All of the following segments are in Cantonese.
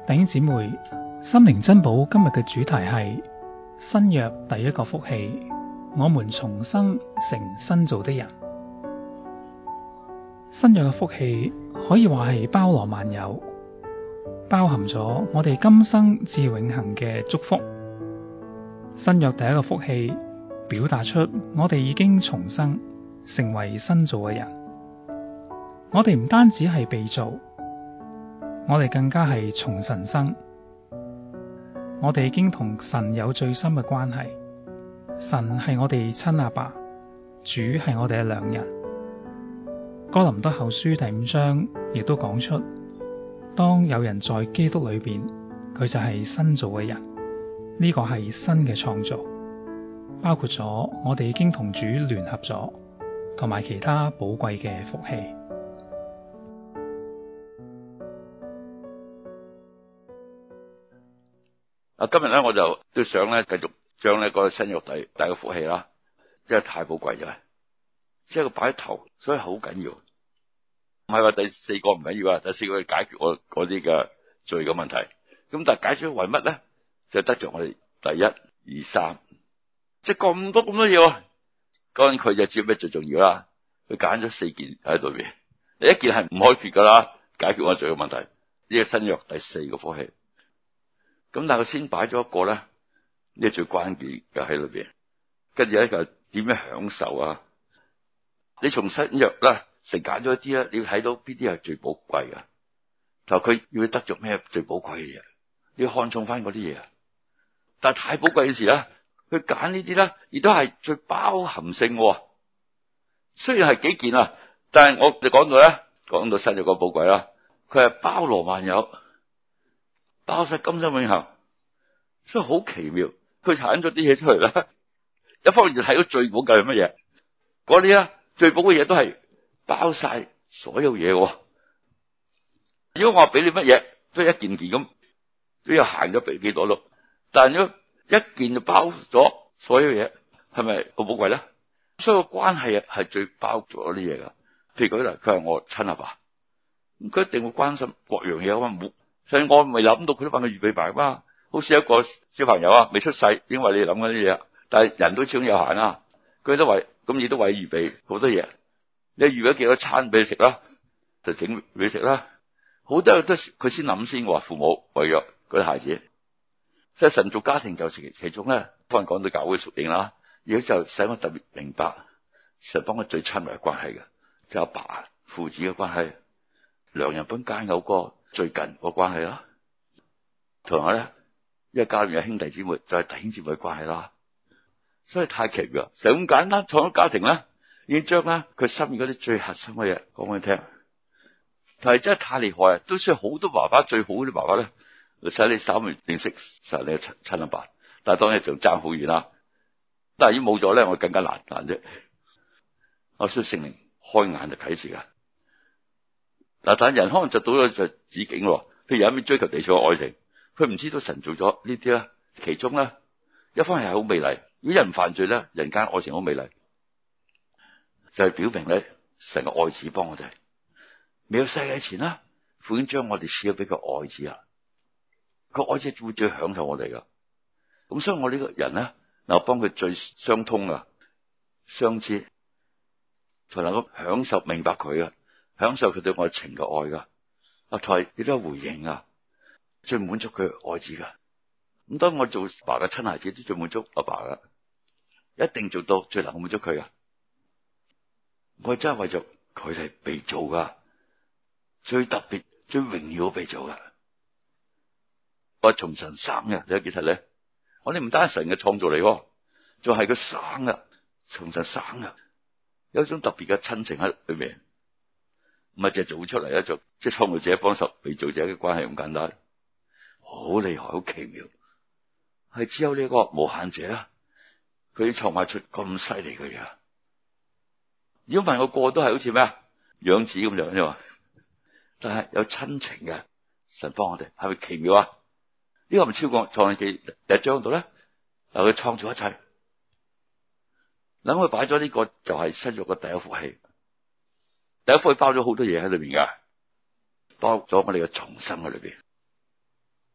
弟兄姊妹，心靈珍寶今日嘅主題係新約第一個福氣，我們重生成新造的人。新約嘅福氣可以話係包羅萬有，包含咗我哋今生至永恆嘅祝福。新約第一個福氣表達出我哋已經重生，成為新造嘅人。我哋唔單止係被造，我哋更加係從神生。我哋已經同神有最深嘅關係，神係我哋親阿爸，主係我哋嘅良人。哥林多後書第5章亦都講出，當有人在基督裏邊，佢就係新造嘅人。呢個係新嘅創造，包括咗我哋已經同主聯合咗，同埋其他寶貴嘅福氣。 今日咧我就都想咧繼續將呢個新約第一個福氣啦，真係太寶貴咗，即係佢擺喺頭，所以好緊要。唔係話第四個唔緊要啊，第四個係解決我嗰啲嘅罪嘅問題。咁但係解決為乜咧？就得着我哋第一、二、三，即係咁多嘢。當然佢就知咩最重要啦。佢揀咗4件喺度邊，你一件係唔可以缺噶啦，解決我罪嘅問題。呢個新約第4個福氣。咁但係佢先擺咗一個咧，呢個最關鍵嘅喺裏邊。跟住咧就點樣享受啊？你從新約咧成揀咗一啲咧，你要睇到邊啲係最寶貴嘅。就佢要得着咩最寶貴嘅嘢，你要看重翻嗰啲嘢。但係太寶貴嘅時咧，佢揀呢啲咧，亦都係最包含性嘅。雖然係幾件啊，但係我哋講到新約個寶貴啦，佢係包羅萬有。包晒今生永恆，所以好奇妙。佢產咗啲嘢出嚟啦，一方面就睇到最寶貴係乜嘢，嗰啲啊最寶嘅嘢都係包晒所有嘢。如果我話俾你乜嘢，都係一件件咁，都要行咗俾幾多咯。但係如果一件就包咗所有嘢，係咪好寶貴咧？所以個關係係最包咗啲嘢噶。譬如佢係我親阿爸，佢一定會關心各樣嘢啊嘛。所以我未諗到佢都幫佢預備埋嘛，好似一個小朋友啊，未出世，因為你諗嗰啲嘢，但係人都始終有限啊。佢都為咁，亦都為預備好多嘢。你預備咗幾多餐俾你食啦，就整俾你食啦。好多都佢先諗先，話父母為咗嗰啲孩子，所以神造家庭就其中咧，幫人講到教會屬靈啦，而家就使我特別明白，神幫我最親密嘅關係嘅，就阿爸父子嘅關係，良人本佳偶個最近個關係啦，同埋咧，因為家裏面有兄弟姊妹，就係弟兄姊妹嘅關係啦，所以太奇妙。成咁簡單創咗家庭咧，已經將咧佢心意嗰啲最核心嘅嘢講俾你聽，但係真係太厲害啊！都需要好多爸爸，最好啲爸爸咧，使你稍微認識實你嘅親阿爸，但係當然仲爭好遠啦。但係已經冇咗咧，我更加難啫。我需要聖靈開眼就啟示噶。嗱，但人可能就到咗就止境咯。譬如有一面追求地上嘅愛情，佢唔知道神做咗呢啲啦。其中咧，一方面係好美麗。如果人犯罪咧，人間愛情好美麗，就係表明咧，神嘅愛子幫我哋。未有世界前啦，父已經將我哋賜咗俾個愛子啊。個愛子會最享受我哋噶。咁所以我呢個人咧，能夠幫佢最相通啊，相知，才能夠享受明白佢啊。享受佢對我情嘅愛噶，阿台亦都有回應啊，最滿足佢愛子噶。咁當我做爸嘅親孩子，都最滿足阿爸噶，一定做到最能夠滿足佢噶。我真係為咗佢哋被造噶，最特別、最榮耀被造噶。我從神生嘅，你睇幾實咧？我哋唔單係神嘅創造嚟，仲係佢生噶，從神生噶，有一種特別嘅親情喺裏面。唔係淨係做出嚟咧，就即係創造者幫手被造者嘅關係咁簡單，好厲害，好奇妙，係只有呢個無限者啦，佢創造出咁犀利嘅嘢。如果問我個個都係好似咩啊養子咁樣啫嘛，但係有親情嘅神幫我哋，係咪奇妙啊？呢個唔超過創世記第1章度咧，嗱佢創造一切，諗佢擺咗呢個就係新約嘅第一福氣。第一福氣包咗好多嘢喺裏邊噶，包咗我哋嘅重生喺裏邊。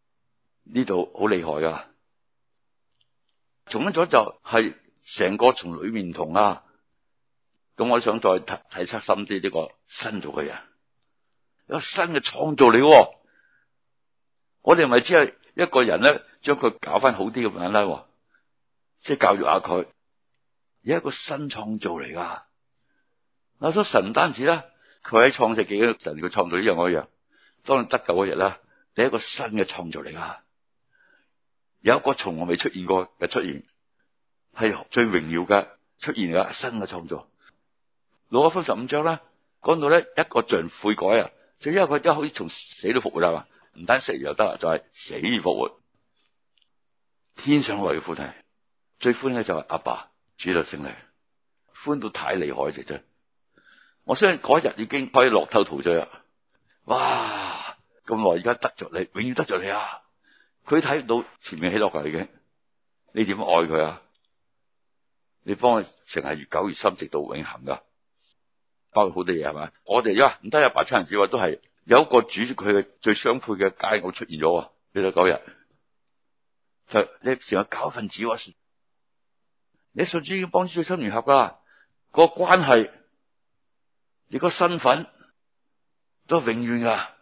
呢度好厲害噶。重生咗就係成個從裏面唔同啊。咁我想再睇測深啲呢個新造嘅人，有新嘅創造嚟。我哋咪只係一個人咧，將佢搞翻好啲咁樣啦，即係教育下佢，而係一個新創造嚟噶。嗱，所以神唔單止啦，佢喺創世紀嘅神佢創造呢樣嗰樣，當你得救嗰日啦，你係一個新嘅創造嚟噶，有一個從來未出現過嘅出現，係最榮耀嘅出現嘅新嘅創造。路加福音15章啦，講到咧一個罪人悔改啊，就因為佢真係好似從死裏復活啦，唔單死又得啦，就係死而復活。天上來嘅歡喜，最歡喜嘅就係阿爸主就聖靈，歡到太厲害嘅啫。我相信嗰日已經可以樂透陶醉啦。哇！咁耐而家得着你，永遠得着你啊！佢睇到前面喜樂噶已經，你點愛佢啊？你幫佢成係越久越深，直到永恆噶。包括好多嘢係咪？我哋唔得阿爸親人子話都係有一個主佢嘅最相配嘅佳偶出現咗。呢度嗰日就你成個教分子喎，你信主已經幫主最深聯合噶，個關係，你個身份都係永遠噶，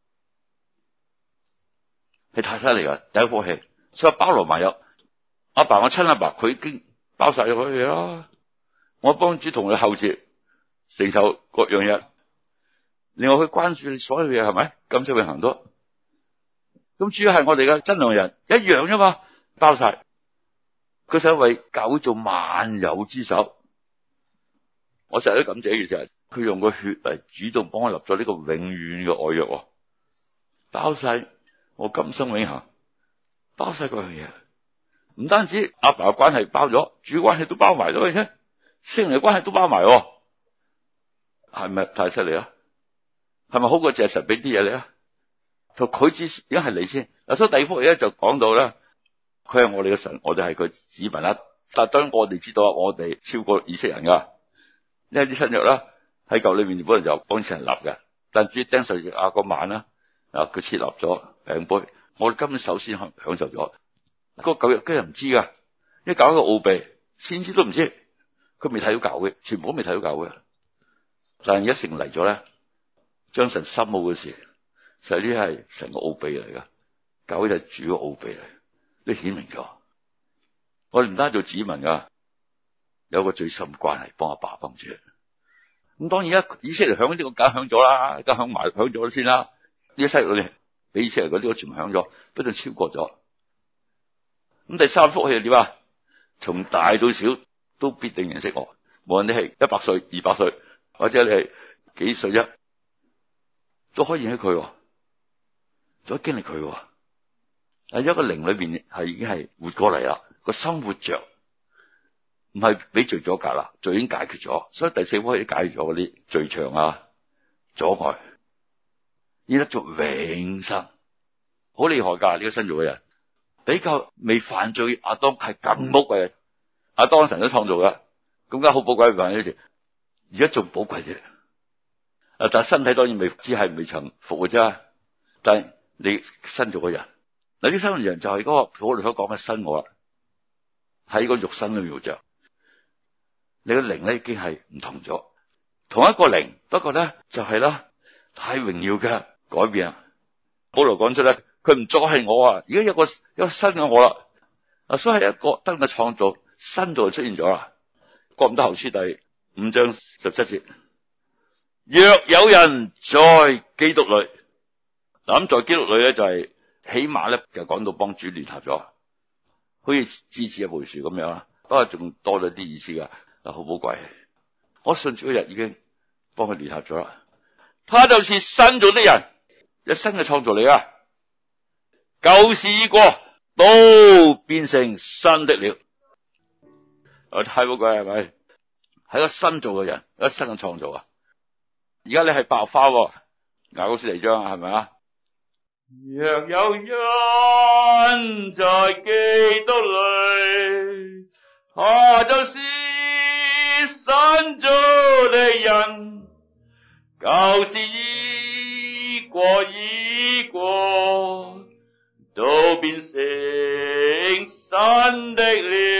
係太犀利噶，第一福氣，所以包羅萬有。阿爸我親阿爸，佢已經包晒咗佢嘢啦。我幫主同佢後接。承受各樣嘢，另外佢關注你所有嘢係咪？今生永恆多，咁主要係我哋嘅真良人一樣啫嘛，包晒。佢想為教會做萬有之首，我成日都感謝嘅就係佢用個血嚟主動幫我立咗呢個永遠嘅愛約，包晒我今生永恆，包晒各樣嘢。唔單止阿爸嘅關係包咗，主關係都包埋咗嘅啫，聖靈嘅關係都包埋。係咪太犀利啊？係咪好過借神俾啲嘢你啊？佢之已經係你先嗱，所以第二福氣咧就講到咧，佢係我哋嘅神，我哋係佢子民啦。但係當然我哋知道，我哋超過以色列人噶，因為啲新約啦喺舊裏面本來就幫以色列人立嘅，但至於釘十字架嗰晚啦，佢設立咗餅杯，我哋根本首先享受咗。個舊約啲人唔知噶，因為搞一個奧秘，先知都唔知，佢未睇到教會，全部都未睇到教會。但係而家成嚟咗咧，將神深奧嘅事，實際呢係神個奧秘嚟噶，教會就係主個奧秘嚟，都顯明咗。我哋唔單做子民噶，有個最深關係，幫阿爸幫主。咁當然以色列享呢個梗享咗啦，梗享埋享咗先啦。呢啲西律嗰啲比以色列嗰啲我全部享咗，不斷超過咗。咁第三福氣係點啊？從大到小都必定認識我，無論你係100歲、200歲。或者你係幾歲啫，都可以認識佢，都經歷佢。喺一個靈裏邊係已經係活過嚟啦，個心活着，唔係俾罪阻隔啦，罪已經解決咗，所以第四福氣解決咗嗰啲罪牆啊、阻礙，依得做永生，好厲害噶！呢個新造嘅人比較未犯罪亞當係更寶貴，亞當神都創造嘅，咁梗好寶貴嘅呢時。而家仲寶貴啲，但係身體當然只係未曾復活啫。但係你新造嘅人，嗱，啲新造嘅人就係嗰個我哋所講嘅新我啦，喺個肉身裏面活着，你嘅靈咧已經係唔同咗，同一個靈，不過咧就係啦，太榮耀嘅改變啊！保羅講出咧，佢唔再係我啊，而家有個新嘅我啦，所以係一個新嘅創造，新造就出現咗啦。哥林多後書第5章17節，若有人在基督裏，嗱，咁在基督裏咧就係起碼咧就講到幫主聯合咗，好似枝子一棵樹咁樣啦，不過仲多咗啲意思噶，好寶貴。我信主嗰日已經幫佢聯合咗啦，他就是新造的人，一新嘅創造嚟啊，舊事已過，都變成新的了。太寶貴係咪？係個新造嘅人，一個新嘅創造啊！而家你係白花，雅歌書第2章係咪啊？若有人在基督裏，他就是新造的人，舊事已過，都變成神的了。